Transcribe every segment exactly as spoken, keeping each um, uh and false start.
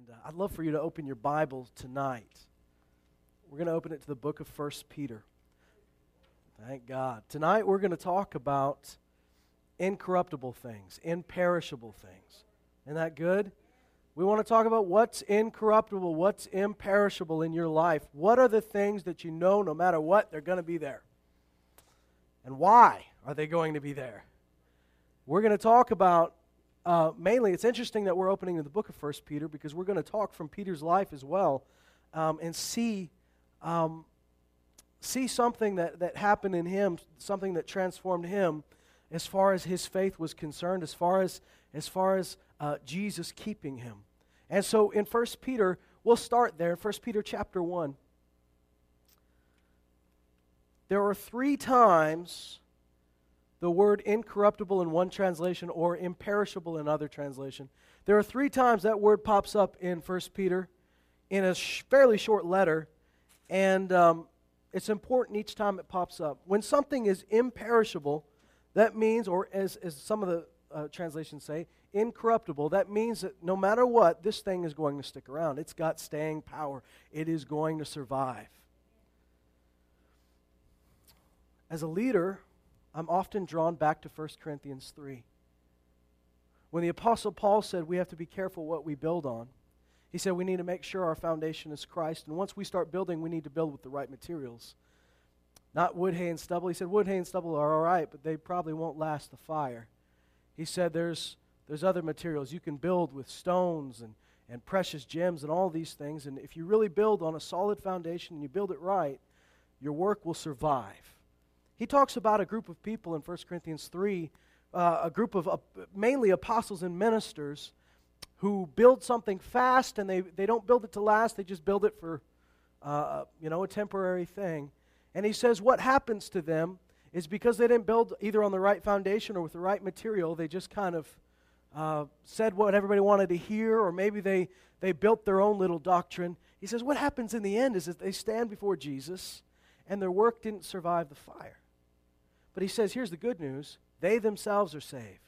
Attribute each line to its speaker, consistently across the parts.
Speaker 1: uh, I'd love for you to open your Bible tonight. We're going to open it to the book of First Peter. Thank God. Tonight we're going to talk about incorruptible things, imperishable things. Isn't that good? We want to talk about what's incorruptible, what's imperishable in your life. What are the things that you know no matter what, they're going to be there? And why are they going to be there? We're going to talk about, uh, mainly, it's interesting that we're opening in the book of First Peter because we're going to talk from Peter's life as well um, and see um, see something that, that happened in him, something that transformed him as far as his faith was concerned, as far as, as, far as uh, Jesus keeping him. And so in First Peter, we'll start there, First Peter chapter one. There are three times the word incorruptible in one translation or imperishable in another translation. There are three times that word pops up in First Peter in a sh- fairly short letter, and um, it's important each time it pops up. When something is imperishable, that means, or as, as some of the uh, translations say, incorruptible, that means that no matter what, this thing is going to stick around. It's got staying power. It is going to survive. As a leader, I'm often drawn back to First Corinthians three. When the Apostle Paul said we have to be careful what we build on, he said we need to make sure our foundation is Christ, and once we start building, we need to build with the right materials. Not wood, hay, and stubble. He said wood, hay, and stubble are all right, but they probably won't last the fire. He said there's there's other materials. You can build with stones and, and precious gems and all these things, and if you really build on a solid foundation and you build it right, your work will survive. He talks about a group of people in First Corinthians three, uh, a group of uh, mainly apostles and ministers who build something fast, and they, they don't build it to last, they just build it for uh, you know, a temporary thing. And he says what happens to them is because they didn't build either on the right foundation or with the right material, they just kind of uh, said what everybody wanted to hear, or maybe they, they built their own little doctrine. He says what happens in the end is that they stand before Jesus, and their work didn't survive the fire. But he says, here's the good news. They themselves are saved.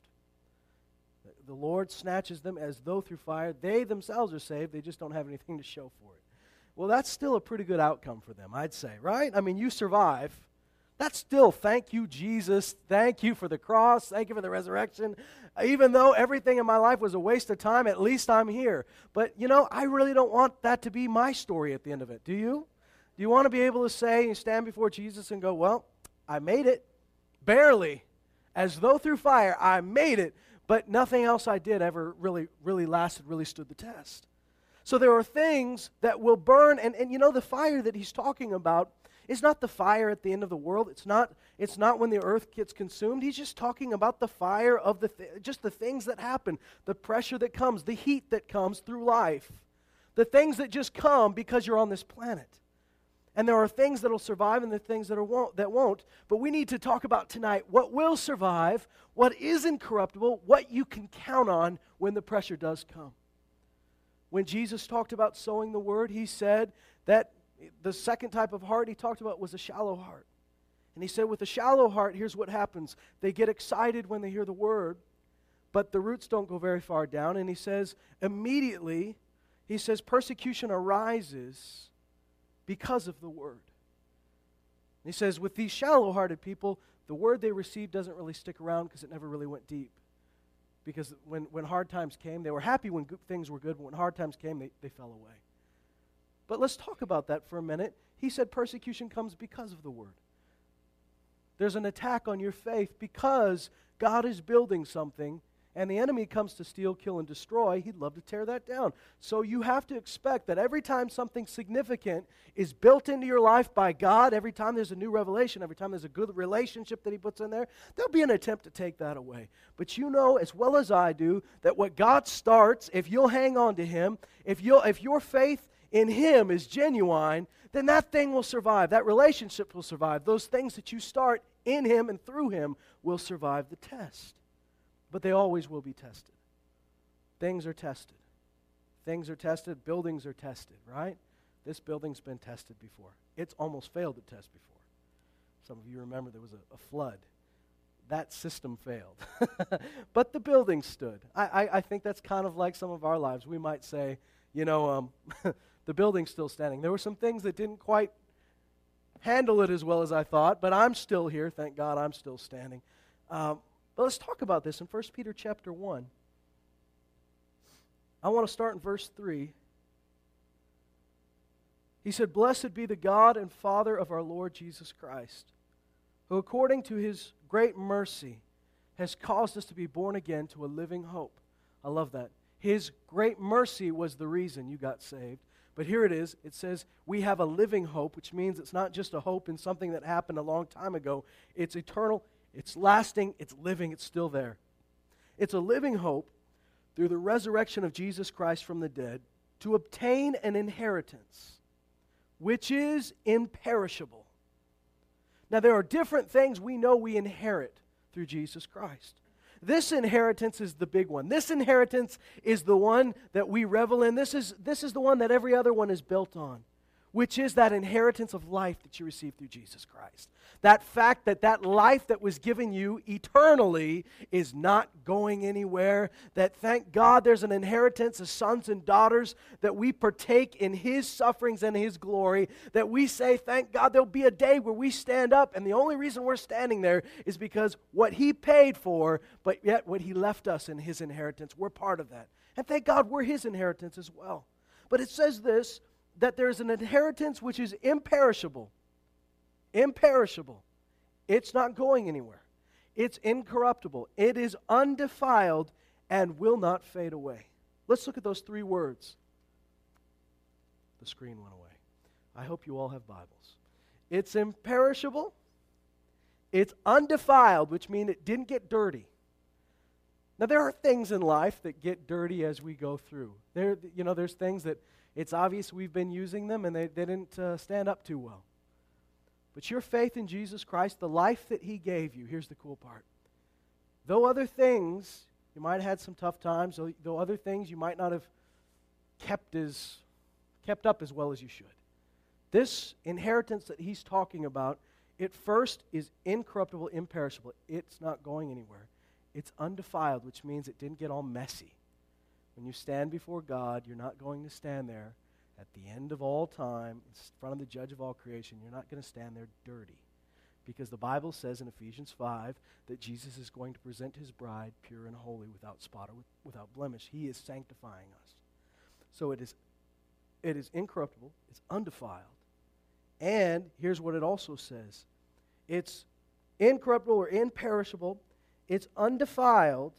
Speaker 1: The Lord snatches them as though through fire. They themselves are saved. They just don't have anything to show for it. Well, that's still a pretty good outcome for them, I'd say, right? I mean, you survive. That's still, thank you, Jesus. Thank you for the cross. Thank you for the resurrection. Even though everything in my life was a waste of time, at least I'm here. But, you know, I really don't want that to be my story at the end of it. Do you? Do you want to be able to say and stand before Jesus and go, well, I made it. Barely, as though through fire, I made it, but nothing else I did ever really, really lasted, really stood the test. So there are things that will burn, and, and you know, the fire that he's talking about is not the fire at the end of the world. It's not, it's not when the earth gets consumed. He's just talking about the fire of the, th- just the things that happen, the pressure that comes, the heat that comes through life, the things that just come because you're on this planet. And there are things that will survive and there are things that, are won't, that won't. But we need to talk about tonight what will survive, what is incorruptible, what you can count on when the pressure does come. When Jesus talked about sowing the word, he said that the second type of heart he talked about was a shallow heart. And he said with a shallow heart, here's what happens. They get excited when they hear the word, but the roots don't go very far down. And he says immediately, he says persecution arises because of the word. And he says, with these shallow-hearted people, the word they received doesn't really stick around because it never really went deep. Because when, when hard times came, they were happy when good things were good, but when hard times came, they, they fell away. But let's talk about that for a minute. He said persecution comes because of the word. There's an attack on your faith because God is building something, and the enemy comes to steal, kill, and destroy. He'd love to tear that down. So you have to expect that every time something significant is built into your life by God, every time there's a new revelation, every time there's a good relationship that he puts in there, there'll be an attempt to take that away. But you know as well as I do that what God starts, if you'll hang on to him, if you'll, if your faith in him is genuine, then that thing will survive. That relationship will survive. Those things that you start in him and through him will survive the test. But they always will be tested. Things are tested. Things are tested. Buildings are tested, right? This building's been tested before. It's almost failed to test before. Some of you remember there was a, a flood. That system failed. But the building stood. I, I, I think that's kind of like some of our lives. We might say, you know, um, the building's still standing. There were some things that didn't quite handle it as well as I thought, but I'm still here. Thank God I'm still standing. Um, but let's talk about this in First Peter chapter one. I want to start in verse three. He said, "Blessed be the God and Father of our Lord Jesus Christ, who according to His great mercy has caused us to be born again to a living hope." I love that. His great mercy was the reason you got saved. But here it is. It says we have a living hope, which means it's not just a hope in something that happened a long time ago. It's eternal, it's lasting, it's living, it's still there. It's a living hope through the resurrection of Jesus Christ from the dead to obtain an inheritance which is imperishable. Now, there are different things we know we inherit through Jesus Christ. This inheritance is the big one. This inheritance is the one that we revel in. This is, this is the one that every other one is built on, which is that inheritance of life that you receive through Jesus Christ. That fact that that life that was given you eternally is not going anywhere. That, thank God, there's an inheritance as sons and daughters, that we partake in His sufferings and His glory. That we say, thank God, there'll be a day where we stand up, and the only reason we're standing there is because what He paid for, but yet what He left us in His inheritance. We're part of that. And thank God we're His inheritance as well. But it says this, that there's an inheritance which is imperishable. Imperishable. It's not going anywhere. It's incorruptible. It is undefiled and will not fade away. Let's look at those three words. The screen went away. I hope you all have Bibles. It's imperishable. It's undefiled, which means it didn't get dirty. Now, there are things in life that get dirty as we go through. There, you know, there's things that it's obvious we've been using them and they, they didn't uh, stand up too well. But your faith in Jesus Christ, the life that He gave you, here's the cool part. Though other things, you might have had some tough times, though, though other things you might not have kept as kept up as well as you should. This inheritance that He's talking about, it first is incorruptible, imperishable. It's not going anywhere. It's undefiled, which means it didn't get all messy. When you stand before God, you're not going to stand there at the end of all time, in front of the judge of all creation. You're not going to stand there dirty. Because the Bible says in Ephesians five that Jesus is going to present His bride pure and holy, without spot or without blemish. He is sanctifying us. So it is, it is incorruptible, it's undefiled. And here's what it also says. It's incorruptible or imperishable, it's undefiled,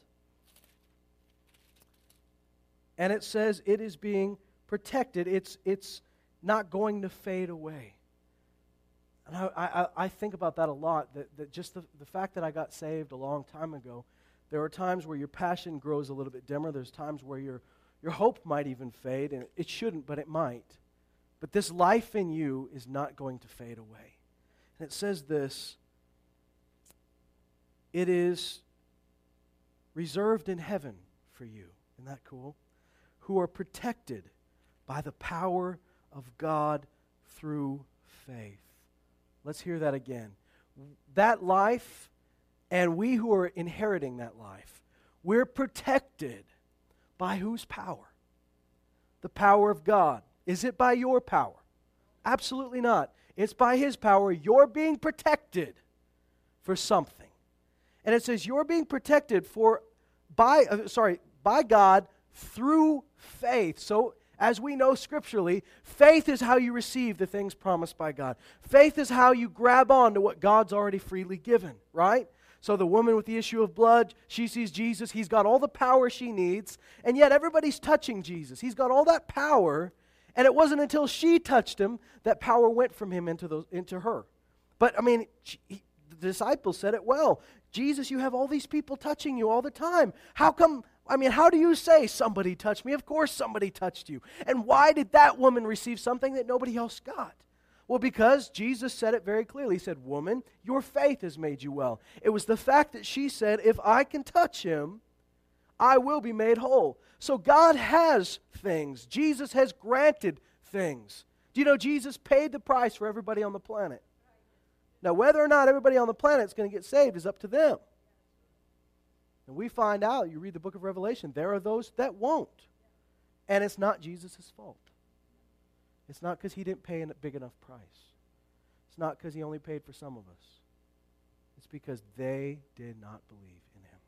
Speaker 1: and it says it is being protected. It's, it's not going to fade away. And I, I, I think about that a lot, that, that just the, the fact that I got saved a long time ago, there are times where your passion grows a little bit dimmer. There's times where your, your hope might even fade, and it shouldn't, but it might. But this life in you is not going to fade away. And it says this, it is reserved in heaven for you. Isn't that cool? Who are protected by the power of God through faith. Let's hear that again. That life, and we who are inheriting that life, we're protected by whose power? The power of God. Is it by your power? Absolutely not. It's by His power. You're being protected for something. And it says you're being protected for by uh, sorry, by God through faith. So as we know scripturally, faith is how you receive the things promised by God. Faith is how you grab on to what God's already freely given, right? So the woman with the issue of blood, she sees Jesus. He's got all the power she needs, and yet everybody's touching Jesus. He's got all that power, and it wasn't until she touched Him that power went from Him into those into her. But, I mean, she, he, the disciples said it well. Jesus, you have all these people touching you all the time. How come, I mean, how do you say somebody touched me? Of course somebody touched you. And why did that woman receive something that nobody else got? Well, because Jesus said it very clearly. He said, woman, your faith has made you well. It was the fact that she said, if I can touch Him, I will be made whole. So God has things. Jesus has granted things. Do you know Jesus paid the price for everybody on the planet? Now, whether or not everybody on the planet is going to get saved is up to them. And we find out, you read the book of Revelation, there are those that won't. And it's not Jesus' fault. It's not because he didn't pay a big enough price. It's not because he only paid for some of us. It's because they did not believe in him.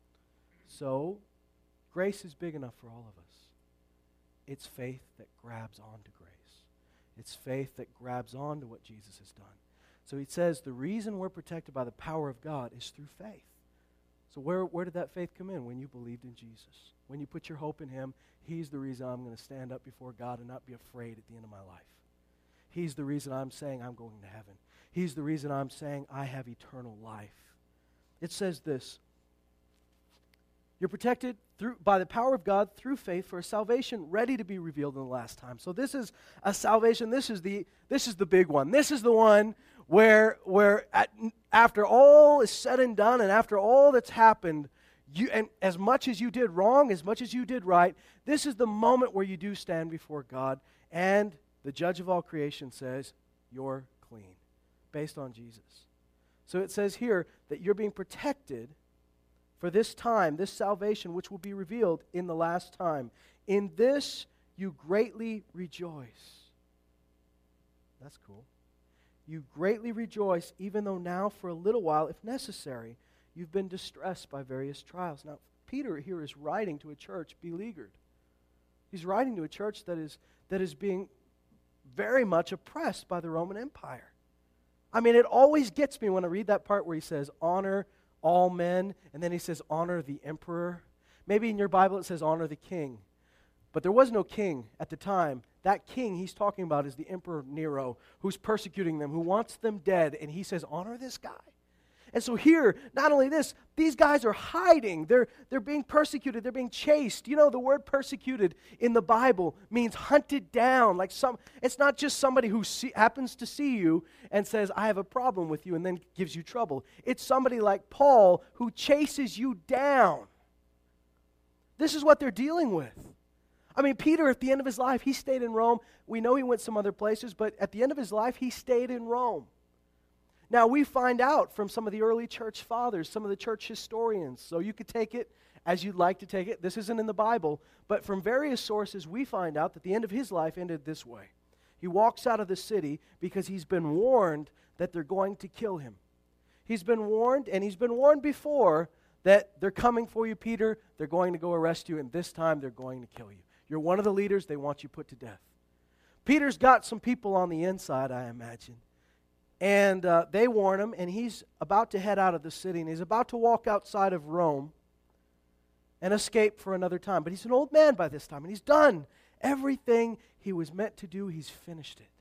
Speaker 1: So, grace is big enough for all of us. It's faith that grabs onto grace. It's faith that grabs onto what Jesus has done. So he says the reason we're protected by the power of God is through faith. So where, where did that faith come in? When you believed in Jesus. When you put your hope in him, he's the reason I'm going to stand up before God and not be afraid at the end of my life. He's the reason I'm saying I'm going to heaven. He's the reason I'm saying I have eternal life. It says this, you're protected through by the power of God through faith for a salvation ready to be revealed in the last time. So this is a salvation. This is the this is the big one. This is the one where where at, after all is said and done, and after all that's happened, you and as much as you did wrong, as much as you did right, this is the moment where you do stand before God, and the judge of all creation says, "You're clean," based on Jesus. So it says here that you're being protected for this time, this salvation, which will be revealed in the last time. In this you greatly rejoice. That's cool. You greatly rejoice, even though now for a little while, if necessary, you've been distressed by various trials. Now, Peter here is writing to a church beleaguered. He's writing to a church that is, that is being very much oppressed by the Roman Empire. I mean, it always gets me when I read that part where he says, honor all men, and then he says, honor the emperor. Maybe in your Bible it says, honor the king. But there was no king at the time. That king he's talking about is the Emperor Nero, who's persecuting them, who wants them dead, and he says, honor this guy. And so here, not only this, these guys are hiding. They're, they're being persecuted. They're being chased. You know, the word persecuted in the Bible means hunted down. Like some, it's not just somebody who see, happens to see you and says, I have a problem with you, and then gives you trouble. It's somebody like Paul who chases you down. This is what they're dealing with. I mean, Peter, at the end of his life, he stayed in Rome. We know he went some other places, but at the end of his life, he stayed in Rome. Now, we find out from some of the early church fathers, some of the church historians, so you could take it as you'd like to take it. This isn't in the Bible, but from various sources, we find out that the end of his life ended this way. He walks out of the city because he's been warned that they're going to kill him. He's been warned, and he's been warned before, that they're coming for you, Peter. They're going to go arrest you, and this time they're going to kill you. You're one of the leaders. They want you put to death. Peter's got some people on the inside, I imagine. And uh, they warn him, and he's about to head out of the city, and he's about to walk outside of Rome and escape for another time. But he's an old man by this time, and he's done everything he was meant to do. He's finished it.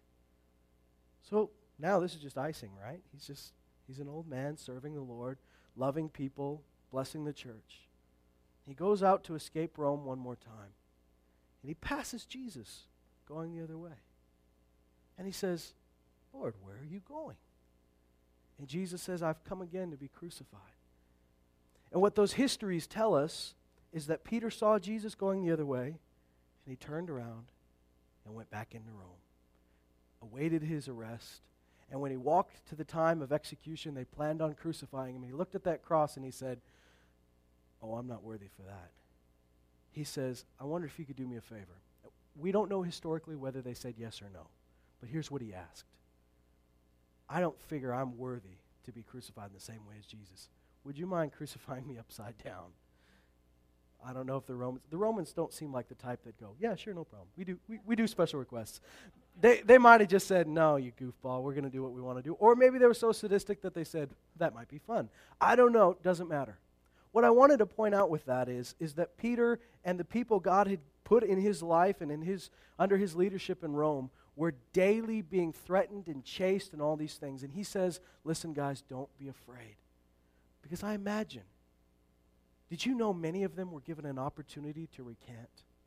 Speaker 1: So now this is just icing, right? He's just, he's an old man serving the Lord, loving people, blessing the church. He goes out to escape Rome one more time, and he passes Jesus going the other way. And he says, Lord, where are you going? And Jesus says, I've come again to be crucified. And what those histories tell us is that Peter saw Jesus going the other way, and he turned around and went back into Rome, awaited his arrest. And when he walked to the time of execution, they planned on crucifying him. He looked at that cross and he said, oh, I'm not worthy for that. He says, I wonder if you could do me a favor. We don't know historically whether they said yes or no, but here's what he asked. I don't figure I'm worthy to be crucified in the same way as Jesus. Would you mind crucifying me upside down? I don't know if the Romans, the Romans don't seem like the type that go, yeah, sure, no problem. We do we, we do special requests. They they might have just said, no, you goofball, we're going to do what we want to do. Or maybe they were so sadistic that they said, that might be fun. I don't know, doesn't matter. What I wanted to point out with that is, is that Peter and the people God had put in his life and in his under his leadership in Rome were daily being threatened and chased and all these things. And he says, listen, guys, don't be afraid. Because I imagine, did you know many of them were given an opportunity to recant?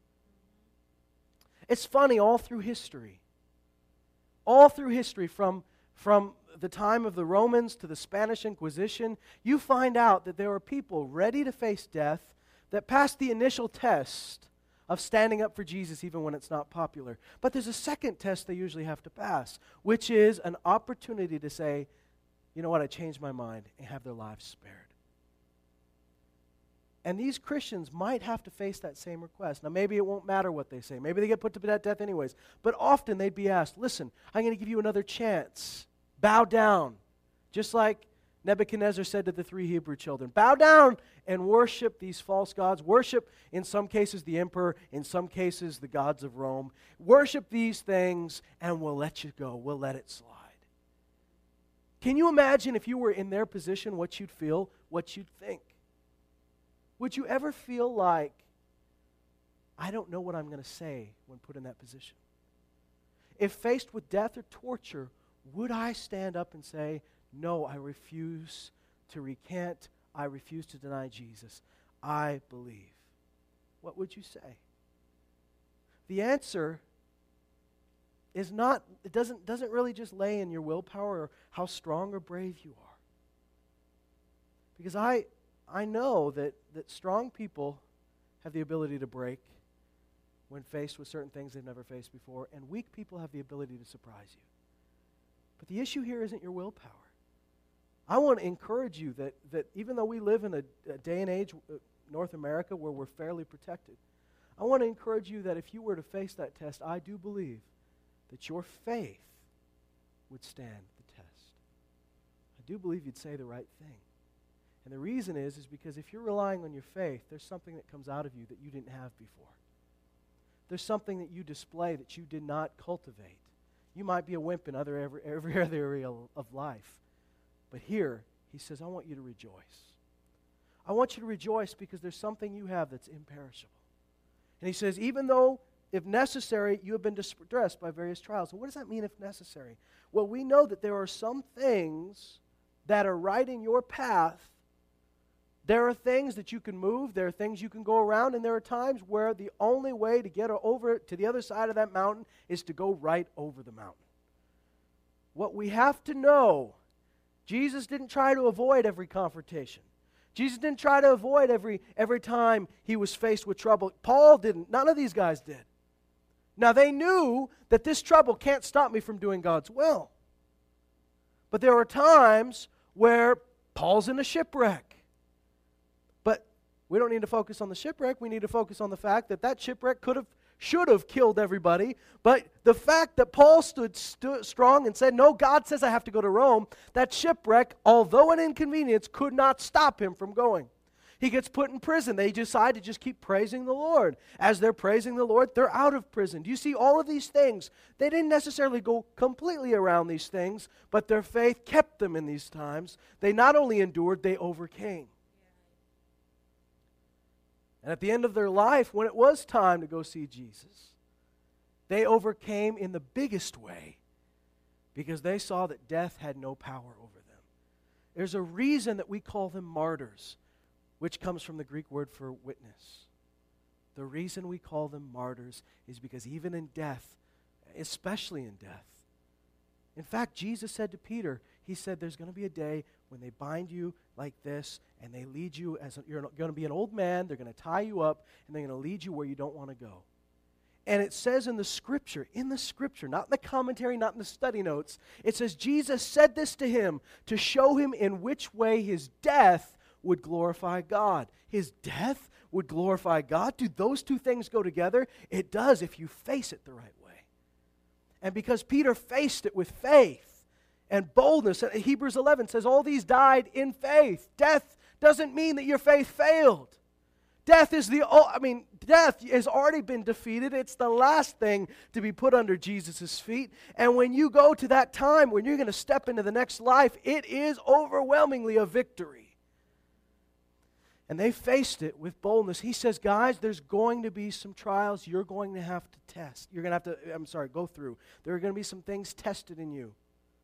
Speaker 1: It's funny, all through history, all through history, from, from the time of the Romans to the Spanish Inquisition, you find out that there are people ready to face death that passed the initial test of standing up for Jesus even when it's not popular. But there's a second test they usually have to pass, which is an opportunity to say, you know what, I changed my mind, and have their lives spared. And these Christians might have to face that same request. Now, maybe it won't matter what they say. Maybe they get put to death anyways. But often they'd be asked, listen, I'm going to give you another chance. Bow down. Just like Nebuchadnezzar said to the three Hebrew children, bow down and worship these false gods. Worship, in some cases, the emperor. In some cases, the gods of Rome. Worship these things and we'll let you go. We'll let it slide. Can you imagine if you were in their position, what you'd feel, what you'd think? Would you ever feel like, I don't know what I'm going to say when put in that position? If faced with death or torture, would I stand up and say, no, I refuse to recant, I refuse to deny Jesus, I believe? What would you say? The answer is not, it doesn't, doesn't really just lay in your willpower or how strong or brave you are. Because I, I know that, that strong people have the ability to break when faced with certain things they've never faced before, and weak people have the ability to surprise you. But the issue here isn't your willpower. I want to encourage you that, that even though we live in a, a day and age, uh, North America, where we're fairly protected, I want to encourage you that if you were to face that test, I do believe that your faith would stand the test. I do believe you'd say the right thing. And the reason is, is because if you're relying on your faith, there's something that comes out of you that you didn't have before. There's something that you display that you did not cultivate. You might be a wimp in other every, every other area of life. But here, he says, I want you to rejoice. I want you to rejoice because there's something you have that's imperishable. And he says, even though, if necessary, you have been distressed by various trials. And what does that mean, if necessary? Well, we know that there are some things that are right in your path. There are things that you can move, there are things you can go around, and there are times where the only way to get over to the other side of that mountain is to go right over the mountain. What we have to know, Jesus didn't try to avoid every confrontation. Jesus didn't try to avoid every, every time he was faced with trouble. Paul didn't. None of these guys did. Now, they knew that this trouble can't stop me from doing God's will. But there are times where Paul's in a shipwreck. But we don't need to focus on the shipwreck. We need to focus on the fact that that shipwreck could have, should have killed everybody. But the fact that Paul stood, stood strong and said, no, God says I have to go to Rome, that shipwreck, although an inconvenience, could not stop him from going. He gets put in prison. They decide to just keep praising the Lord. As they're praising the Lord, they're out of prison. Do you see all of these things? They didn't necessarily go completely around these things, but their faith kept them in these times. They not only endured, they overcame. And at the end of their life, when it was time to go see Jesus, they overcame in the biggest way because they saw that death had no power over them. There's a reason that we call them martyrs, which comes from the Greek word for witness. The reason we call them martyrs is because even in death, especially in death, in fact, Jesus said to Peter, he said, there's going to be a day when they bind you like this, and they lead you as a, you're going to be an old man, they're going to tie you up, and they're going to lead you where you don't want to go. And it says in the Scripture, in the Scripture, not in the commentary, not in the study notes, it says Jesus said this to him to show him in which way his death would glorify God. His death would glorify God. Do those two things go together? It does if you face it the right way. And because Peter faced it with faith and boldness, Hebrews eleven says all these died in faith. Death doesn't mean that your faith failed. Death is the, I mean, death has already been defeated. It's the last thing to be put under Jesus' feet. And when you go to that time, when you're going to step into the next life, it is overwhelmingly a victory. And they faced it with boldness. He says, guys, there's going to be some trials you're going to have to test. You're going to have to, I'm sorry, go through. There are going to be some things tested in you.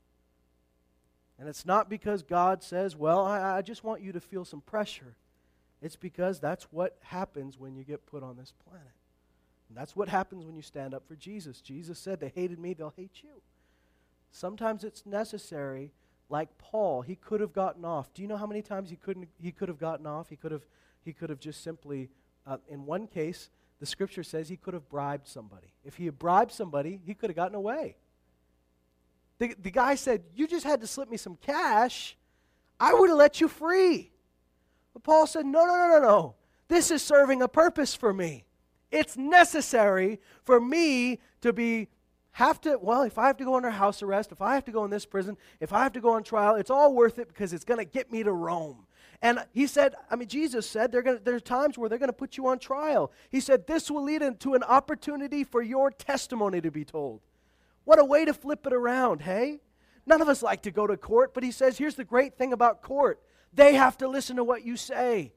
Speaker 1: And it's not because God says, well, I, I just want you to feel some pressure. It's because that's what happens when you get put on this planet. And that's what happens when you stand up for Jesus. Jesus said, they hated me, they'll hate you. Sometimes it's necessary. Like Paul, he could have gotten off. Do you know how many times he couldn't? He could have gotten off. He could have. He could have just simply. Uh, in one case, the Scripture says he could have bribed somebody. If he had bribed somebody, he could have gotten away. The the guy said, "You just had to slip me some cash. I would have let you free." But Paul said, "No, no, no, no, no. This is serving a purpose for me. It's necessary for me to be, have to, well, if I have to go under house arrest, if I have to go in this prison, if I have to go on trial, it's all worth it because it's going to get me to Rome. And he said, I mean, Jesus said they're gonna, there's times where they're going to put you on trial. He said this will lead into an opportunity for your testimony to be told. What a way to flip it around, hey? None of us like to go to court, but he says, here's the great thing about court. They have to listen to what you say.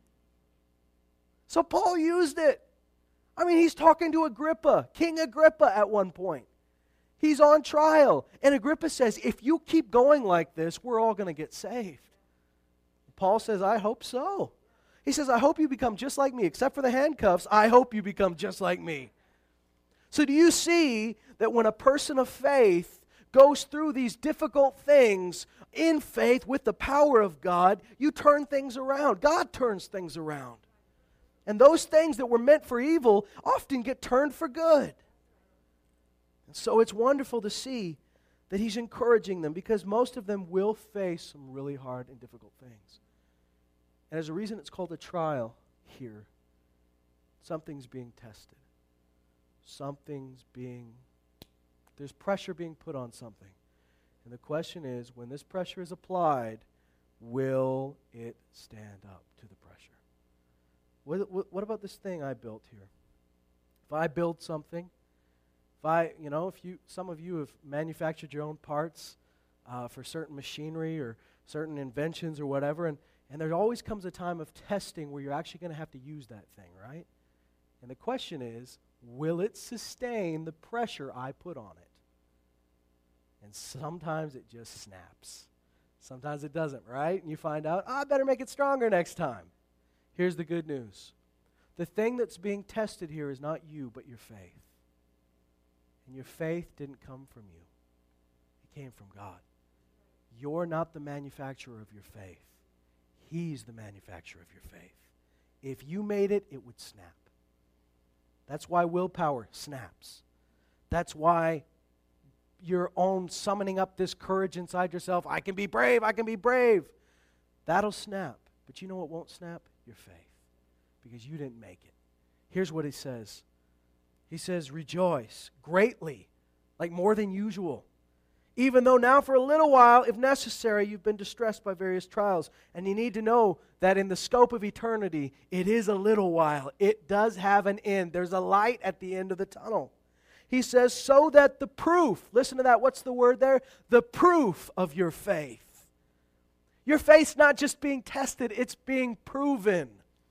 Speaker 1: So Paul used it. I mean, he's talking to Agrippa, King Agrippa at one point. He's on trial. And Agrippa says, if you keep going like this, we're all going to get saved. Paul says, I hope so. He says, I hope you become just like me. Except for the handcuffs, I hope you become just like me. So do you see that when a person of faith goes through these difficult things in faith with the power of God, you turn things around. God turns things around. And those things that were meant for evil often get turned for good. And so it's wonderful to see that he's encouraging them because most of them will face some really hard and difficult things. And as a reason it's called a trial here, something's being tested. Something's being, there's pressure being put on something. And the question is, when this pressure is applied, will it stand up to the pressure? What, what, what about this thing I built here? If I build something, if I, you know, if you, some of you have manufactured your own parts uh, for certain machinery or certain inventions or whatever, and, and there always comes a time of testing where you're actually going to have to use that thing, right? And the question is, will it sustain the pressure I put on it? And sometimes it just snaps. Sometimes it doesn't, right? And you find out, oh, I better make it stronger next time. Here's the good news. The thing that's being tested here is not you, but your faith. And your faith didn't come from you. It came from God. You're not the manufacturer of your faith. He's the manufacturer of your faith. If you made it, it would snap. That's why willpower snaps. That's why your own summoning up this courage inside yourself, I can be brave, I can be brave, that'll snap. But you know what won't snap? Your faith. Because you didn't make it. Here's what he says. He says, rejoice greatly, like more than usual. Even though now for a little while, if necessary, you've been distressed by various trials. And you need to know that in the scope of eternity, it is a little while. It does have an end. There's a light at the end of the tunnel. He says, so that the proof, listen to that, what's the word there? The proof of your faith. Your faith's not just being tested, it's being proven.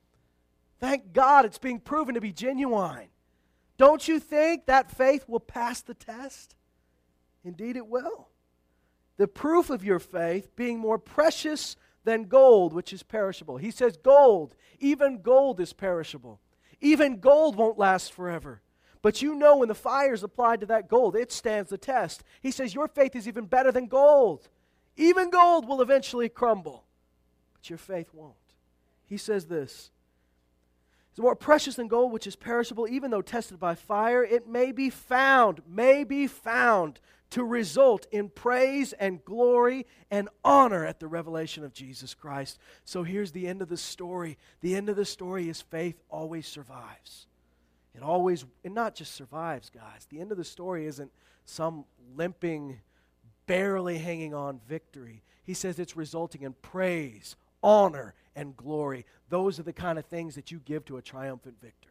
Speaker 1: Thank God it's being proven to be genuine. Don't you think that faith will pass the test? Indeed it will. The proof of your faith being more precious than gold, which is perishable. He says gold, even gold is perishable. Even gold won't last forever. But you know when the fire is applied to that gold, it stands the test. He says your faith is even better than gold. Even gold will eventually crumble, but your faith won't. He says this, it's more precious than gold, which is perishable, even though tested by fire, it may be found, may be found to result in praise and glory and honor at the revelation of Jesus Christ. So here's the end of the story. The end of the story is faith always survives. It always, and not just survives, guys. The end of the story isn't some limping, barely hanging on victory. He says it's resulting in praise, honor, and glory. Those are the kind of things that you give to a triumphant victor.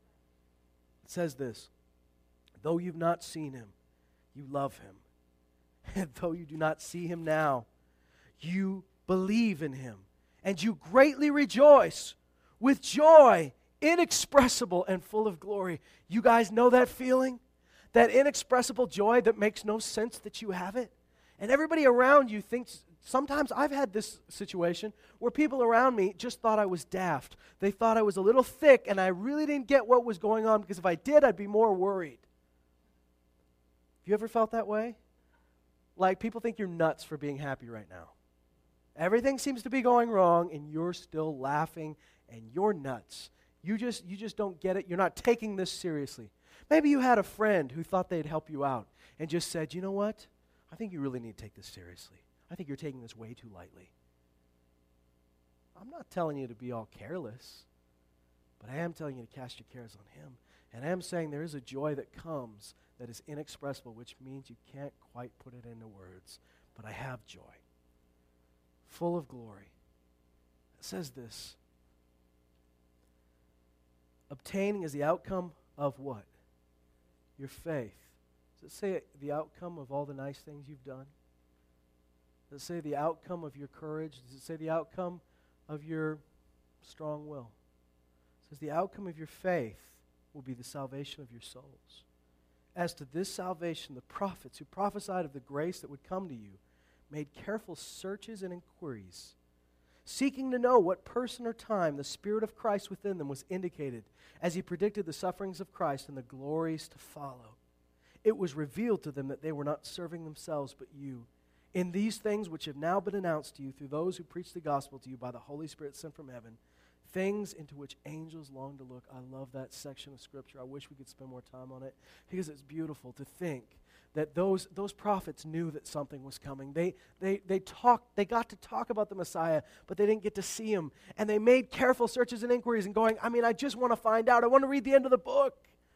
Speaker 1: It says this, though you've not seen him, you love him. And though you do not see him now, you believe in him. And you greatly rejoice with joy inexpressible and full of glory. You guys know that feeling? That inexpressible joy that makes no sense that you have it? And everybody around you thinks, sometimes I've had this situation where people around me just thought I was daft. They thought I was a little thick and I really didn't get what was going on because if I did, I'd be more worried. Have you ever felt that way? Like people think you're nuts for being happy right now. Everything seems to be going wrong and you're still laughing and you're nuts. You just, you just don't get it. You're not taking this seriously. Maybe you had a friend who thought they'd help you out and just said, you know what? I think you really need to take this seriously. I think you're taking this way too lightly. I'm not telling you to be all careless. But I am telling you to cast your cares on him. And I am saying there is a joy that comes that is inexpressible, which means you can't quite put it into words. But I have joy, full of glory. It says this. Obtaining is the outcome of what? Your faith. Does it say the outcome of all the nice things you've done? Does it say the outcome of your courage? Does it say the outcome of your strong will? It says the outcome of your faith will be the salvation of your souls. As to this salvation, the prophets who prophesied of the grace that would come to you made careful searches and inquiries, seeking to know what person or time the Spirit of Christ within them was indicated as he predicted the sufferings of Christ and the glories to follow. It was revealed to them that they were not serving themselves but you. In these things which have now been announced to you through those who preach the gospel to you by the Holy Spirit sent from heaven, things into which angels long to look. I love that section of Scripture. I wish we could spend more time on it because it's beautiful to think that those those prophets knew that something was coming. They they they talked, they got to talk about the Messiah, but they didn't get to see him. And they made careful searches and inquiries and going, I mean, I just want to find out. I want to read the end of the book.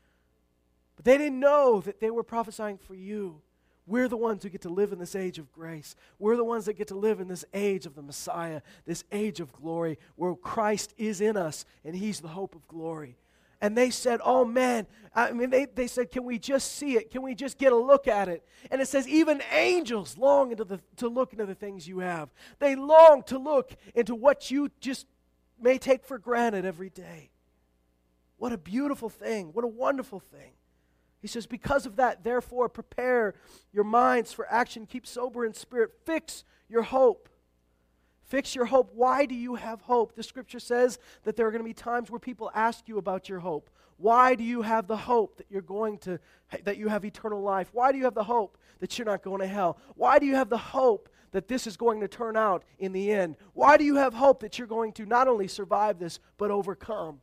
Speaker 1: But they didn't know that they were prophesying for you. We're the ones who get to live in this age of grace. We're the ones that get to live in this age of the Messiah, this age of glory, where Christ is in us, and he's the hope of glory. And they said, oh man, I mean, they, they said, can we just see it? Can we just get a look at it? And it says, even angels long into the, to look into the things you have. They long to look into what you just may take for granted every day. What a beautiful thing. What a wonderful thing. He says, because of that, therefore, prepare your minds for action. Keep sober in spirit. Fix your hope. Fix your hope. Why do you have hope? The Scripture says that there are going to be times where people ask you about your hope. Why do you have the hope that you're going to, that you have eternal life? Why do you have the hope that you're not going to hell? Why do you have the hope that this is going to turn out in the end? Why do you have hope that you're going to not only survive this, but overcome?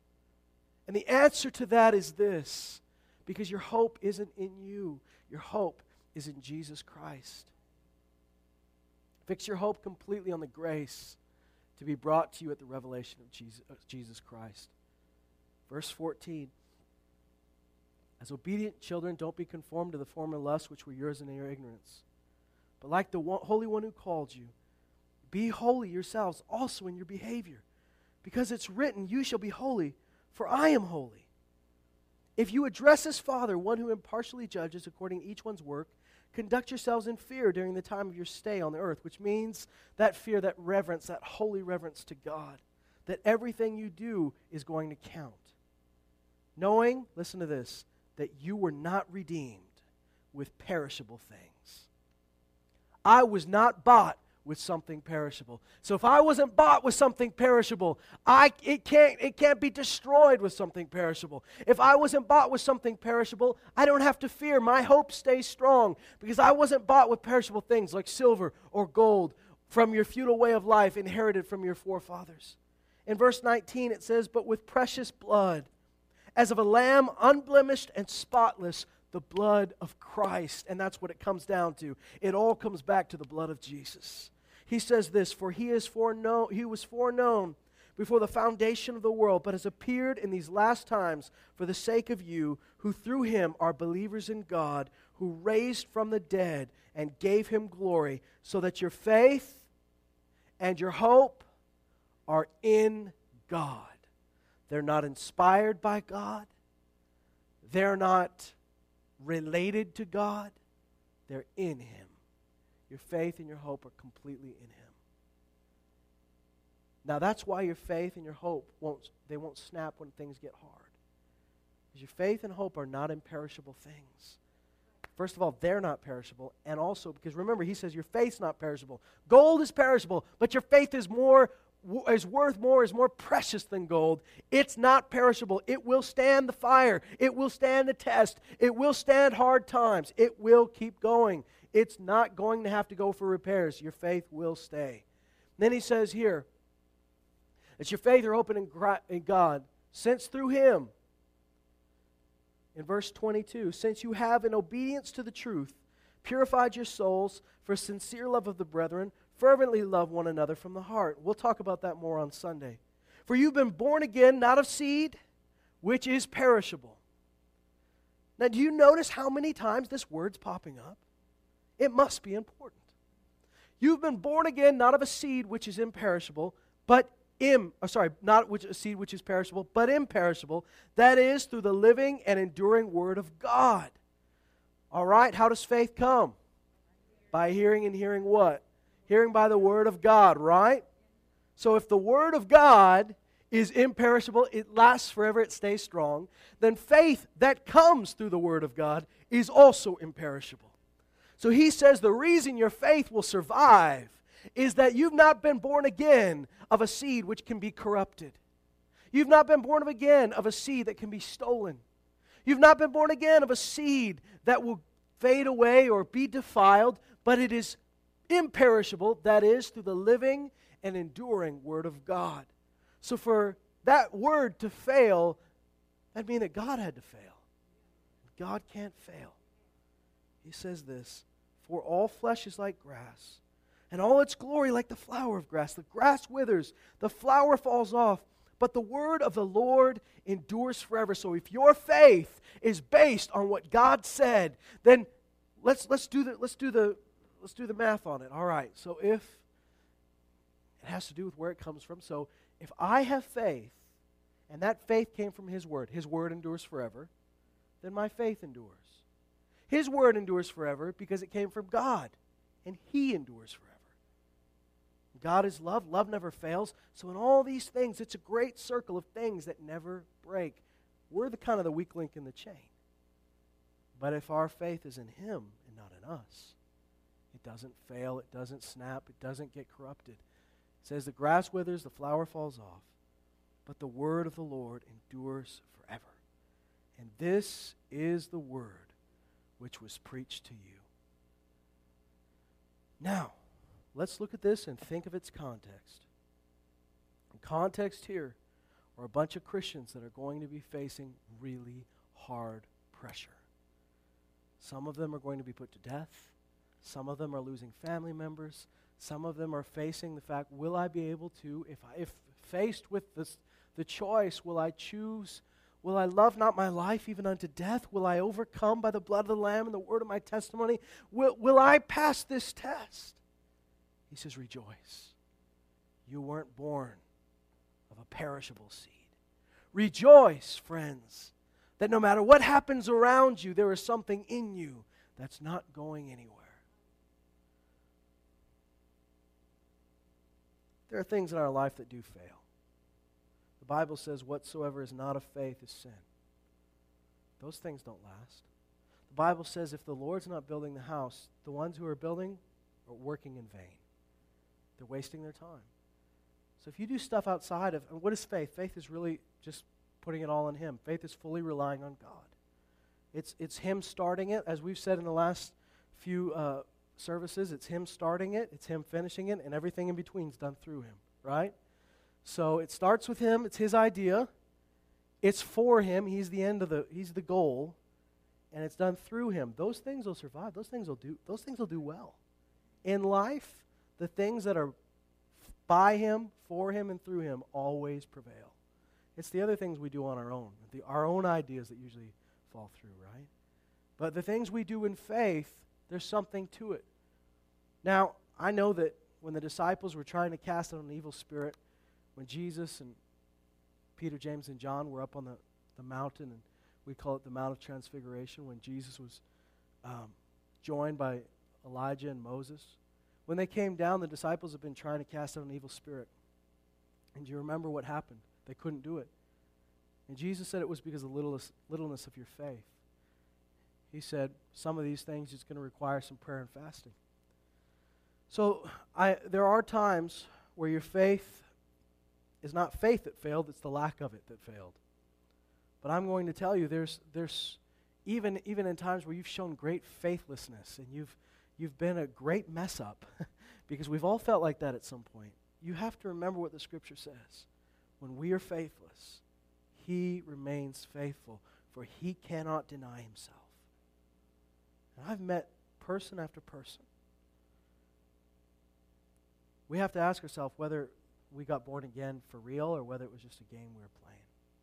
Speaker 1: And the answer to that is this. Because your hope isn't in you. Your hope is in Jesus Christ. Fix your hope completely on the grace to be brought to you at the revelation of Jesus, of Jesus Christ. Verse fourteen. As obedient children, don't be conformed to the former lusts which were yours in your ignorance. But like the one, Holy One who called you, be holy yourselves also in your behavior. Because it's written, you shall be holy, for I am holy. If you address as Father, one who impartially judges according to each one's work, conduct yourselves in fear during the time of your stay on the earth, which means that fear, that reverence, that holy reverence to God, that everything you do is going to count. Knowing, listen to this, that you were not redeemed with perishable things. I was not bought with something perishable. So if I wasn't bought with something perishable, I it can't it can't be destroyed with something perishable. If I wasn't bought with something perishable, I don't have to fear. My hope stays strong because I wasn't bought with perishable things like silver or gold from your feudal way of life inherited from your forefathers. In verse nineteen it says, but with precious blood, as of a lamb unblemished and spotless, the blood of Christ. And that's what it comes down to. It all comes back to the blood of Jesus. He says this, for he is foreknown, he was foreknown before the foundation of the world, but has appeared in these last times for the sake of you, who through him are believers in God, who raised from the dead and gave him glory, so that your faith and your hope are in God. They're not inspired by God. They're not related to God. They're in him. Your faith and your hope are completely in him. Now that's why your faith and your hope won't they won't snap when things get hard. Because your faith and hope are not imperishable things. First of all, they're not perishable, and also because remember he says your faith's not perishable. Gold is perishable, but your faith is more is worth more, is more precious than gold. It's not perishable. It will stand the fire. It will stand the test. It will stand hard times. It will keep going. It's not going to have to go for repairs. Your faith will stay. Then he says here, that your faith are open in, in God, since through him, in verse twenty-two, since you have in obedience to the truth purified your souls for sincere love of the brethren, fervently love one another from the heart. We'll talk about that more on Sunday. For you've been born again, not of seed, which is perishable. Now, do you notice how many times this word's popping up? It must be important. You've been born again, not of a seed which is imperishable, but im, oh, sorry, not which a seed which is perishable, but imperishable. That is through the living and enduring word of God. All right, how does faith come? By hearing, and hearing what? Hearing by the word of God, right? So if the word of God is imperishable, it lasts forever, it stays strong, then faith that comes through the word of God is also imperishable. So he says the reason your faith will survive is that you've not been born again of a seed which can be corrupted. You've not been born again of a seed that can be stolen. You've not been born again of a seed that will fade away or be defiled, but it is imperishable, that is, through the living and enduring word of God. So for that word to fail, that'd mean that God had to fail. God can't fail. He says this, for all flesh is like grass, and all its glory like the flower of grass. The grass withers, the flower falls off, but the word of the Lord endures forever. So if your faith is based on what God said, then let's let's do the let's do the let's do the math on it. All right. So if it has to do with where it comes from. So if I have faith, and that faith came from His word, His word endures forever, then my faith endures. His word endures forever because it came from God, and He endures forever. God is love. Love never fails. So in all these things, it's a great circle of things that never break. We're the kind of the weak link in the chain. But if our faith is in Him and not in us, it doesn't fail, it doesn't snap, it doesn't get corrupted. It says the grass withers, the flower falls off, but the word of the Lord endures forever. And this is the word which was preached to you. Now, let's look at this and think of its context. The context here are a bunch of Christians that are going to be facing really hard pressure. Some of them are going to be put to death. Some of them are losing family members. Some of them are facing the fact, will I be able to, if, I, if faced with this, the choice, will I choose, will I love not my life even unto death? Will I overcome by the blood of the Lamb and the word of my testimony? Will, will I pass this test? He says, rejoice. You weren't born of a perishable seed. Rejoice, friends, that no matter what happens around you, there is something in you that's not going anywhere. There are things in our life that do fail. The Bible says, whatsoever is not of faith is sin. Those things don't last. The Bible says, if the Lord's not building the house, the ones who are building are working in vain. They're wasting their time. So if you do stuff outside of, and what is faith? Faith is really just putting it all on Him. Faith is fully relying on God. It's, it's Him starting it, as we've said in the last few uh, services. It's Him starting it, it's Him finishing it, and everything in between is done through Him, right? So it starts with Him, it's His idea, it's for Him, He's the end of the, He's the goal, and it's done through Him. Those things will survive, those things will do, those things will do well. In life, the things that are by Him, for Him, and through Him always prevail. It's the other things we do on our own, the, our own ideas that usually fall through, right? But the things we do in faith, there's something to it. Now, I know that when the disciples were trying to cast out an evil spirit, when Jesus and Peter, James, and John were up on the, the mountain, and we call it the Mount of Transfiguration, when Jesus was um, joined by Elijah and Moses, when they came down, the disciples had been trying to cast out an evil spirit. And do you remember what happened? They couldn't do it. And Jesus said it was because of the littleness, littleness of your faith. He said, some of these things is going to require some prayer and fasting. So I, there are times where your faith is not faith that failed, it's the lack of it that failed. But I'm going to tell you, there's, there's even, even in times where you've shown great faithlessness and you've You've been a great mess up, because we've all felt like that at some point. You have to remember what the Scripture says. When we are faithless, He remains faithful, for He cannot deny Himself. And I've met person after person. We have to ask ourselves whether we got born again for real or whether it was just a game we were playing.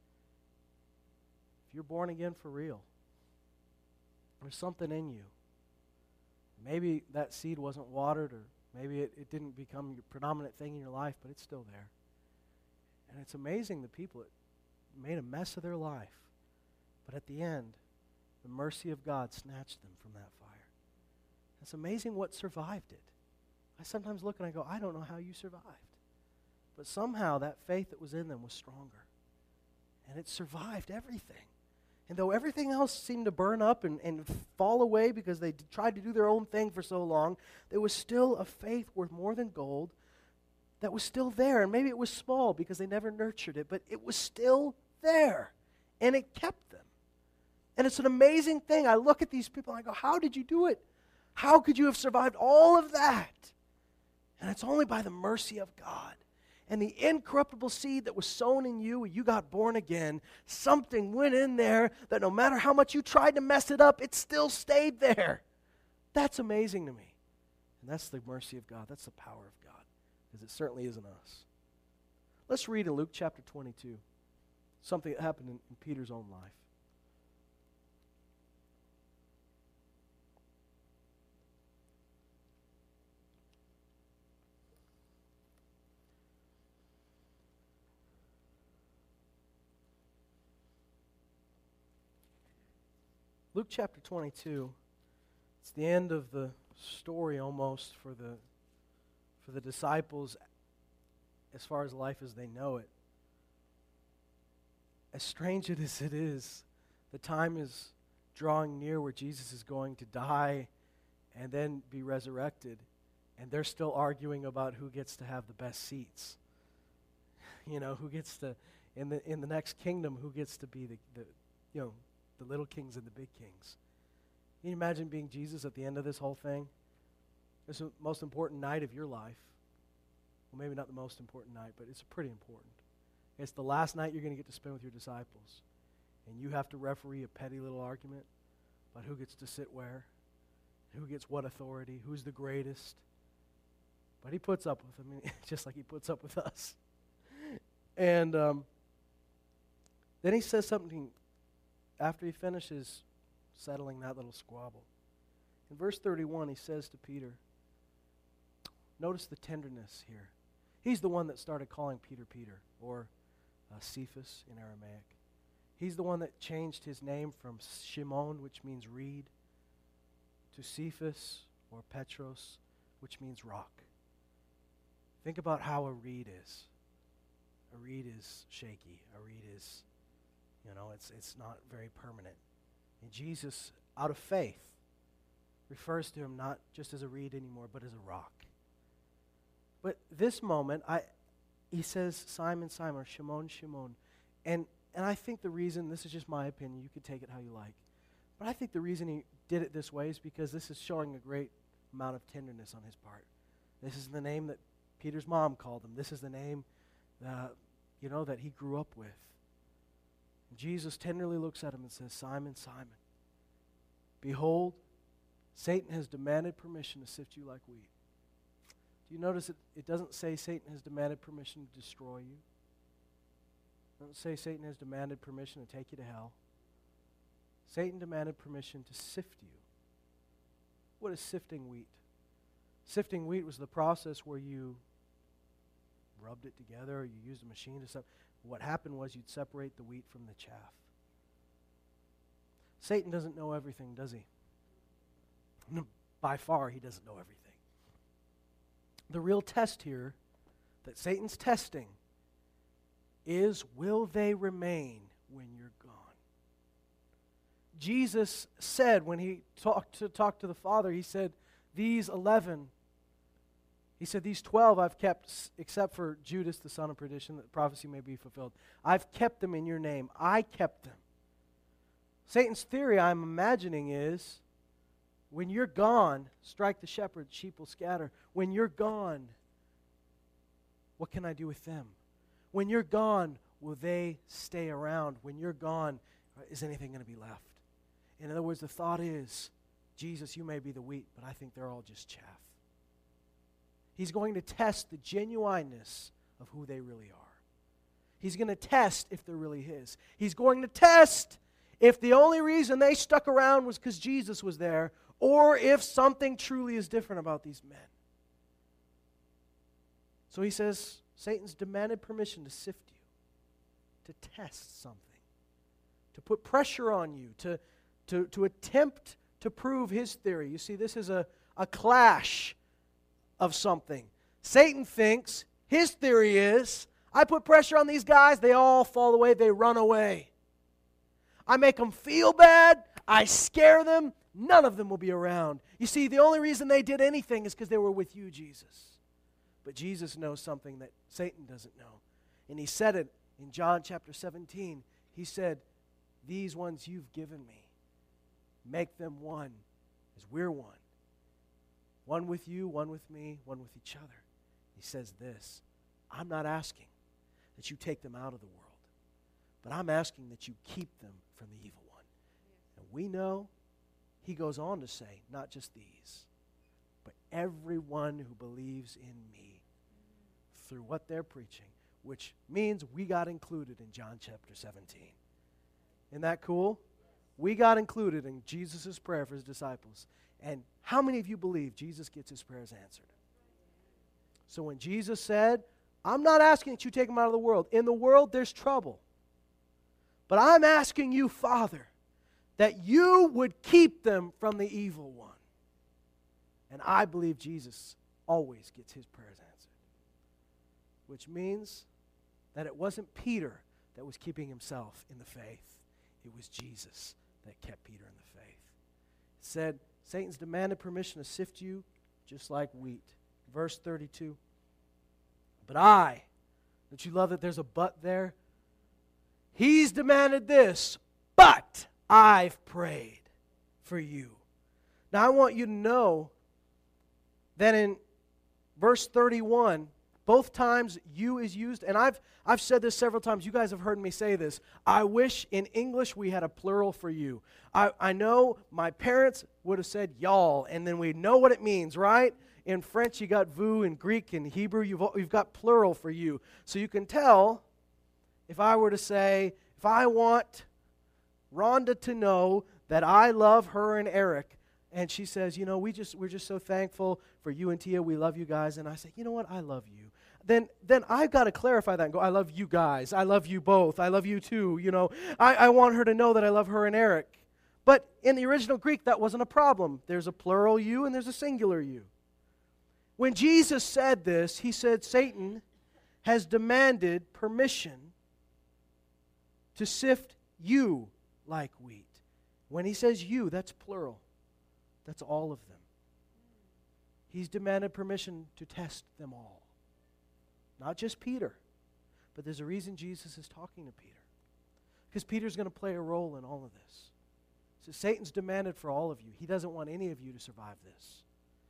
Speaker 1: If you're born again for real, there's something in you. Maybe that seed wasn't watered, or maybe it, it didn't become your predominant thing in your life, but it's still there. And it's amazing the people that made a mess of their life, but at the end, the mercy of God snatched them from that fire. It's amazing what survived it. I sometimes look and I go, I don't know how you survived. But somehow that faith that was in them was stronger. And it survived everything. And though everything else seemed to burn up and, and fall away because they d- tried to do their own thing for so long, there was still a faith worth more than gold that was still there. And maybe it was small because they never nurtured it, but it was still there. And it kept them. And it's an amazing thing. I look at these people and I go, how did you do it? How could you have survived all of that? And it's only by the mercy of God. And the incorruptible seed that was sown in you when you got born again, something went in there that no matter how much you tried to mess it up, it still stayed there. That's amazing to me. And that's the mercy of God. That's the power of God. Because it certainly isn't us. Let's read in Luke chapter twenty-two. Something that happened in, in Peter's own life. Luke chapter twenty-two, it's the end of the story almost for the for the disciples as far as life as they know it. As strange as it is, the time is drawing near where Jesus is going to die and then be resurrected, and they're still arguing about who gets to have the best seats. You know, who gets to, in the in the next kingdom, who gets to be the, the you know, the little kings and the big kings. Can you imagine being Jesus at the end of this whole thing? It's the most important night of your life. Well, maybe not the most important night, but it's pretty important. It's the last night you're going to get to spend with your disciples. And you have to referee a petty little argument about who gets to sit where, who gets what authority, who's the greatest. But he puts up with them, just like he puts up with us. And um, then he says something after he finishes settling that little squabble. In verse thirty-one, he says to Peter, notice the tenderness here. He's the one that started calling Peter Peter, or uh, Cephas in Aramaic. He's the one that changed his name from Shimon, which means reed, to Cephas, or Petros, which means rock. Think about how a reed is. A reed is shaky. A reed is, you know, it's it's not very permanent. And Jesus, out of faith, refers to him not just as a reed anymore, but as a rock. But this moment, I, he says, Simon, Simon, or Shimon, Shimon. And, and I think the reason, this is just my opinion, you can take it how you like, but I think the reason he did it this way is because this is showing a great amount of tenderness on his part. This is the name that Peter's mom called him. This is the name, uh, you know, that he grew up with. And Jesus tenderly looks at him and says, Simon, Simon, behold, Satan has demanded permission to sift you like wheat. Do you notice it, it doesn't say Satan has demanded permission to destroy you? It doesn't say Satan has demanded permission to take you to hell. Satan demanded permission to sift you. What is sifting wheat? Sifting wheat was the process where you rubbed it together or you used a machine to separate. What happened was you'd separate the wheat from the chaff. Satan doesn't know everything, does he? No, by far, he doesn't know everything. The real test here that Satan's testing is, will they remain when you're gone? Jesus said when he talked to, talked to the Father, he said, these eleven, he said, these twelve I've kept, except for Judas, the son of perdition, that prophecy may be fulfilled. I've kept them in your name. I kept them. Satan's theory, I'm imagining, is when you're gone, strike the shepherd, sheep will scatter. When you're gone, what can I do with them? When you're gone, will they stay around? When you're gone, is anything going to be left? In other words, the thought is, Jesus, you may be the wheat, but I think they're all just chaff. He's going to test the genuineness of who they really are. He's going to test if they're really his. He's going to test if the only reason they stuck around was because Jesus was there, or if something truly is different about these men. So he says, Satan's demanded permission to sift you, to test something, to put pressure on you, to, to, to attempt to prove his theory. You see, this is a, a clash of something. Satan thinks his theory is, I put pressure on these guys, they all fall away, they run away. I make them feel bad, I scare them, none of them will be around. You see, the only reason they did anything is because they were with you, Jesus. But Jesus knows something that Satan doesn't know. And he said it in John chapter seventeen. He said, these ones you've given me, make them one as we're one. One with you, one with me, one with each other. He says this, I'm not asking that you take them out of the world, but I'm asking that you keep them from the evil one. And we know, he goes on to say, not just these, but everyone who believes in me through what they're preaching, which means we got included in John chapter seventeen. Isn't that cool? We got included in Jesus' prayer for his disciples. And how many of you believe Jesus gets his prayers answered? So when Jesus said, I'm not asking that you take them out of the world. In the world, there's trouble. But I'm asking you, Father, that you would keep them from the evil one. And I believe Jesus always gets his prayers answered. Which means that it wasn't Peter that was keeping himself in the faith. It was Jesus that kept Peter in the faith. It said, Satan's demanded permission to sift you just like wheat. Verse thirty-two. But I, don't you love that there's a but there? He's demanded this, but I've prayed for you. Now I want you to know that in verse thirty-one, both times you is used, and I've I've said this several times. You guys have heard me say this. I wish in English we had a plural for you. I, I know my parents would have said y'all, and then we know what it means, right? In French, you got vous. In Greek and Hebrew, you've, you've got plural for you. So you can tell, if I were to say, if I want Rhonda to know that I love her and Eric, and she says, you know, we just, we're just so thankful for you and Tia. We love you guys. And I say, you know what? I love you. Then then I've got to clarify that and go, I love you guys. I love you both. I love you too. You know, I, I want her to know that I love her and Eric. But in the original Greek, that wasn't a problem. There's a plural you and there's a singular you. When Jesus said this, he said, Satan has demanded permission to sift you like wheat. When he says you, that's plural. That's all of them. He's demanded permission to test them all. Not just Peter, but there's a reason Jesus is talking to Peter. Because Peter's going to play a role in all of this. So Satan's demanded for all of you. He doesn't want any of you to survive this.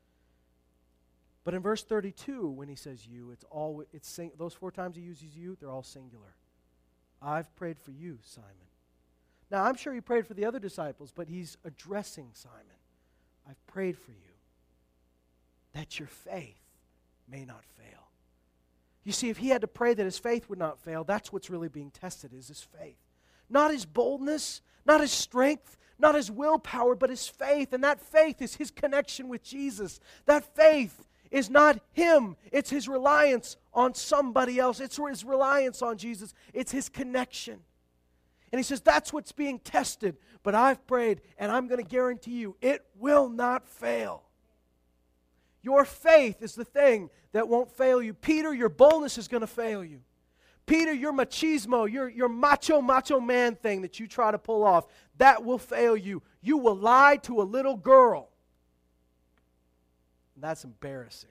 Speaker 1: But in verse thirty-two, when he says you, it's all it's sing, those four times he uses you, they're all singular. I've prayed for you, Simon. Now, I'm sure he prayed for the other disciples, but he's addressing Simon. I've prayed for you that your faith may not fail. You see, if he had to pray that his faith would not fail, that's what's really being tested, is his faith. Not his boldness, not his strength, not his willpower, but his faith. And that faith is his connection with Jesus. That faith is not him. It's his reliance on somebody else. It's his reliance on Jesus. It's his connection. And he says, that's what's being tested. But I've prayed, and I'm going to guarantee you, it will not fail. Your faith is the thing that won't fail you. Peter, your boldness is going to fail you. Peter, your machismo, your, your macho, macho man thing that you try to pull off, that will fail you. You will lie to a little girl. And that's embarrassing.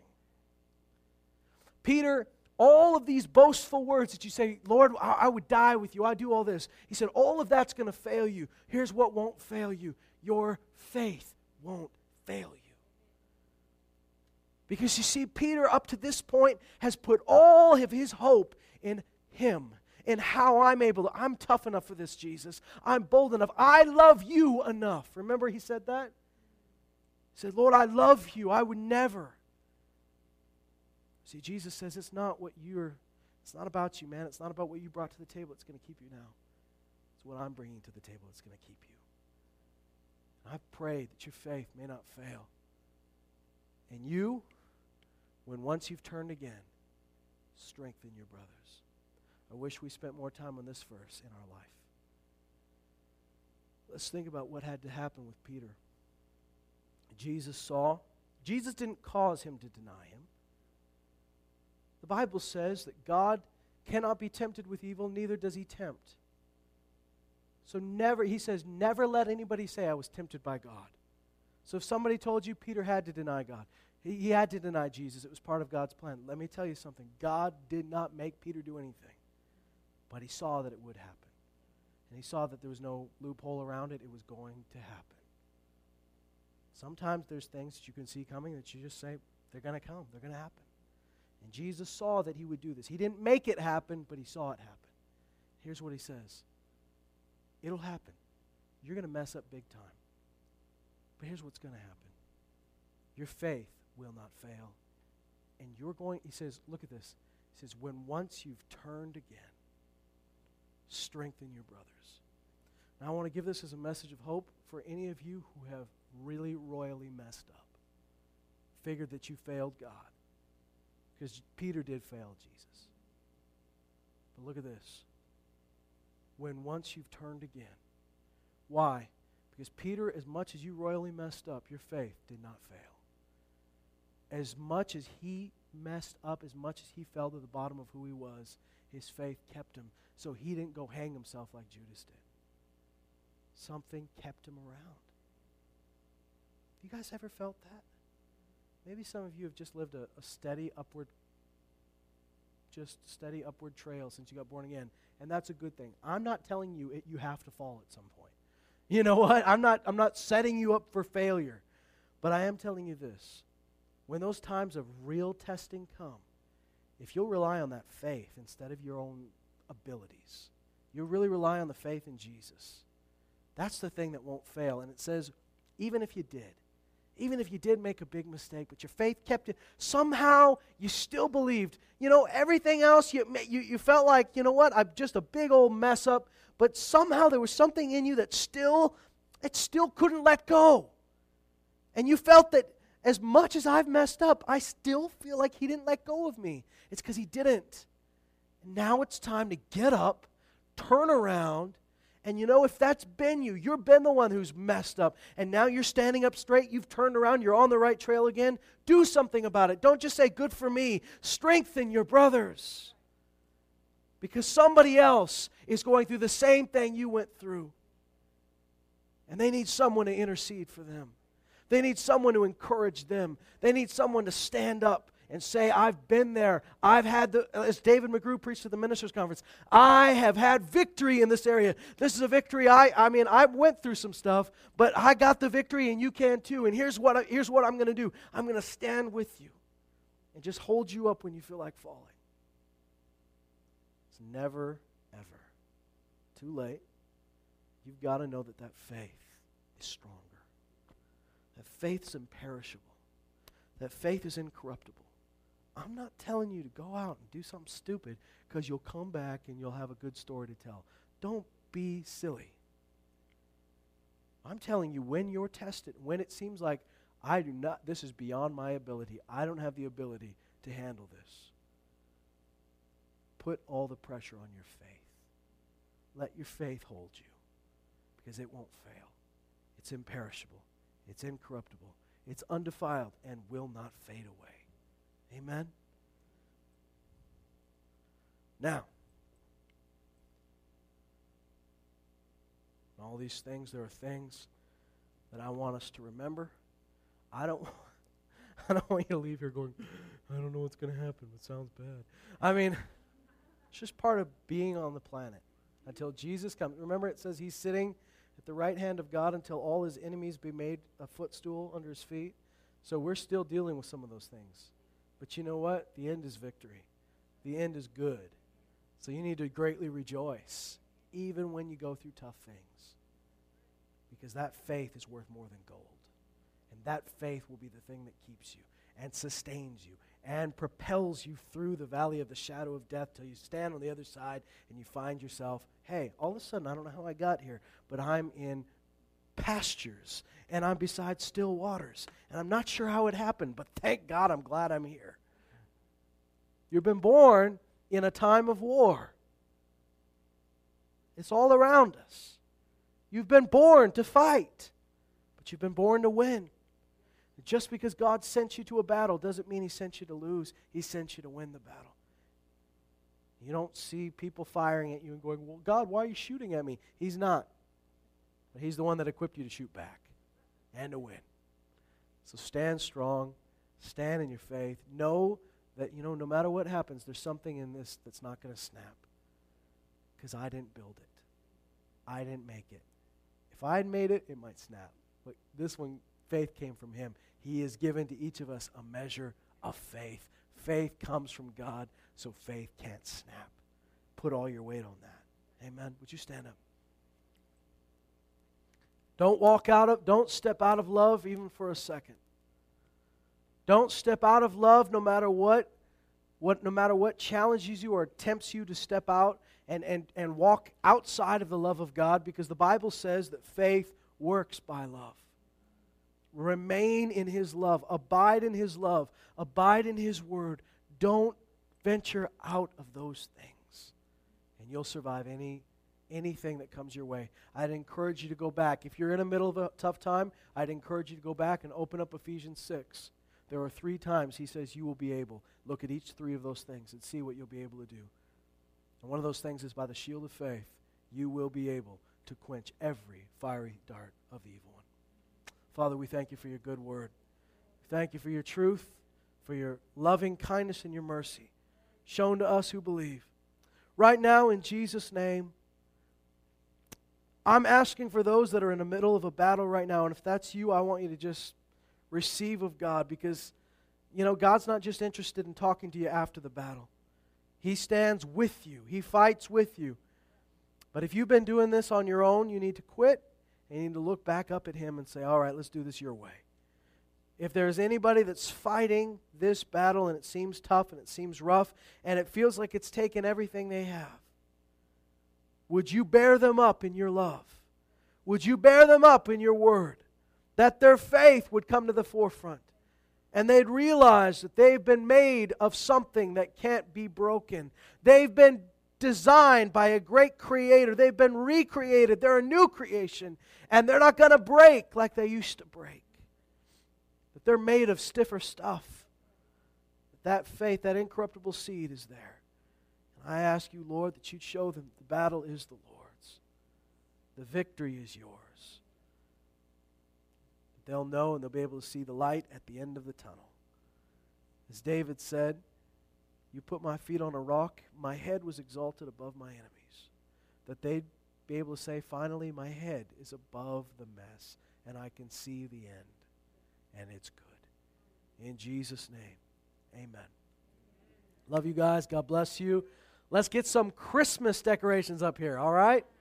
Speaker 1: Peter, all of these boastful words that you say, Lord, I, I would die with you. I do all this. He said, all of that's going to fail you. Here's what won't fail you. Your faith won't fail you. Because you see, Peter up to this point has put all of his hope in him, in how I'm able to, I'm tough enough for this, Jesus. I'm bold enough. I love you enough. Remember he said that? He said, Lord, I love you. I would never. See, Jesus says it's not what you're, It's not about you, man. It's not about what you brought to the table. It's going to keep you now. It's what I'm bringing to the table that's going to keep you. And I pray that your faith may not fail. And you, when once you've turned again, strengthen your brothers. I wish we spent more time on this verse in our life. Let's think about what had to happen with Peter. Jesus saw. Jesus didn't cause him to deny him. The Bible says that God cannot be tempted with evil, neither does he tempt. So never, he says, never let anybody say I was tempted by God. So if somebody told you Peter had to deny God, he, he had to deny Jesus, it was part of God's plan. Let me tell you something. God did not make Peter do anything, but he saw that it would happen. And he saw that there was no loophole around it. It was going to happen. Sometimes there's things that you can see coming that you just say, they're going to come, they're going to happen. And Jesus saw that he would do this. He didn't make it happen, but he saw it happen. Here's what he says. It'll happen. You're going to mess up big time. But here's what's going to happen. Your faith will not fail. And you're going, he says, look at this. He says, when once you've turned again, strengthen your brothers. Now I want to give this as a message of hope for any of you who have really royally messed up. Figured that you failed God. Because Peter did fail Jesus. But look at this. When once you've turned again. Why? Because Peter, as much as you royally messed up, your faith did not fail. As much as he messed up, as much as he fell to the bottom of who he was, his faith kept him. So he didn't go hang himself like Judas did. Something kept him around. You guys ever felt that? Maybe some of you have just lived a, a steady upward, just steady upward trail since you got born again. And that's a good thing. I'm not telling you it, you have to fall at some point. You know what? I'm not, I'm not setting you up for failure. But I am telling you this. When those times of real testing come, if you'll rely on that faith instead of your own abilities, you'll really rely on the faith in Jesus. That's the thing that won't fail. And it says, even if you did, even if you did make a big mistake, but your faith kept it, somehow you still believed. You know, everything else, you, you, you felt like, you know what, I'm just a big old mess up, but somehow there was something in you that still, it still couldn't let go. And you felt that as much as I've messed up, I still feel like he didn't let go of me. It's because he didn't. And now it's time to get up, turn around, and you know, if that's been you, you've been the one who's messed up, and now you're standing up straight, you've turned around, you're on the right trail again, do something about it. Don't just say, good for me. Strengthen your brothers. Because somebody else is going through the same thing you went through. And they need someone to intercede for them. They need someone to encourage them. They need someone to stand up and say, I've been there. I've had the, as David McGrew preached at the ministers' conference, I have had victory in this area. This is a victory. I, I mean, I went through some stuff, but I got the victory and you can too. And here's what, I, here's what I'm going to do. I'm going to stand with you and just hold you up when you feel like falling. It's never, ever too late. You've got to know that that faith is stronger. That faith's imperishable. That faith is incorruptible. I'm not telling you to go out and do something stupid because you'll come back and you'll have a good story to tell. Don't be silly. I'm telling you, when you're tested, when it seems like I do not, this is beyond my ability, I don't have the ability to handle this, put all the pressure on your faith. Let your faith hold you because it won't fail. It's imperishable. It's incorruptible. It's undefiled and will not fade away. Amen? Now, all these things, there are things that I want us to remember. I don't, I don't want you to leave here going, I don't know what's going to happen. It sounds bad. I mean, it's just part of being on the planet until Jesus comes. Remember, it says he's sitting at the right hand of God until all his enemies be made a footstool under his feet. So we're still dealing with some of those things. But you know what? The end is victory. The end is good. So you need to greatly rejoice, even when you go through tough things. Because that faith is worth more than gold. And that faith will be the thing that keeps you and sustains you and propels you through the valley of the shadow of death till you stand on the other side and you find yourself, hey, all of a sudden, I don't know how I got here, but I'm in pastures and I'm beside still waters. And I'm not sure how it happened, but thank God I'm glad I'm here. You've been born in a time of war. It's all around us. You've been born to fight, but you've been born to win. Just because God sent you to a battle doesn't mean He sent you to lose. He sent you to win the battle. You don't see people firing at you and going, well, God, why are you shooting at me? He's not. But He's the one that equipped you to shoot back and to win. So stand strong. Stand in your faith. Know that, you know, no matter what happens, there's something in this that's not going to snap. Because I didn't build it. I didn't make it. If I had made it, it might snap. But this one, faith came from Him. He has given to each of us a measure of faith. Faith comes from God, so faith can't snap. Put all your weight on that. Amen. Would you stand up? Don't walk out of, don't step out of love even for a second. Don't step out of love no matter what, what no matter what challenges you or tempts you to step out and, and, and walk outside of the love of God, because the Bible says that faith works by love. Remain in His love. Abide in His love. Abide in His word. Don't venture out of those things. And you'll survive any anything that comes your way. I'd encourage you to go back. If you're in the middle of a tough time, I'd encourage you to go back and open up Ephesians six. There are three times He says you will be able. Look at each three of those things and see what you'll be able to do. And one of those things is by the shield of faith, you will be able to quench every fiery dart of the evil one. Father, we thank You for Your good word. We thank You for Your truth, for Your loving kindness and Your mercy shown to us who believe. Right now, in Jesus' name, I'm asking for those that are in the middle of a battle right now, and if that's you, I want you to just receive of God, because, you know, God's not just interested in talking to you after the battle. He stands with you. He fights with you. But if you've been doing this on your own, you need to quit. And you need to look back up at Him and say, all right, let's do this your way. If there's anybody that's fighting this battle and it seems tough and it seems rough and it feels like it's taken everything they have, would you bear them up in Your love? Would you bear them up in Your word? That their faith would come to the forefront and they'd realize that they've been made of something that can't be broken. They've been designed by a great creator. They've been recreated. They're a new creation. And they're not going to break like they used to break. But they're made of stiffer stuff. That faith, that incorruptible seed is there. And I ask You, Lord, that You'd show them the battle is the Lord's. The victory is Yours. They'll know and they'll be able to see the light at the end of the tunnel. As David said, You put my feet on a rock, my head was exalted above my enemies. That they'd be able to say, finally, my head is above the mess, and I can see the end, and it's good. In Jesus' name, amen. Love you guys. God bless you. Let's get some Christmas decorations up here, all right?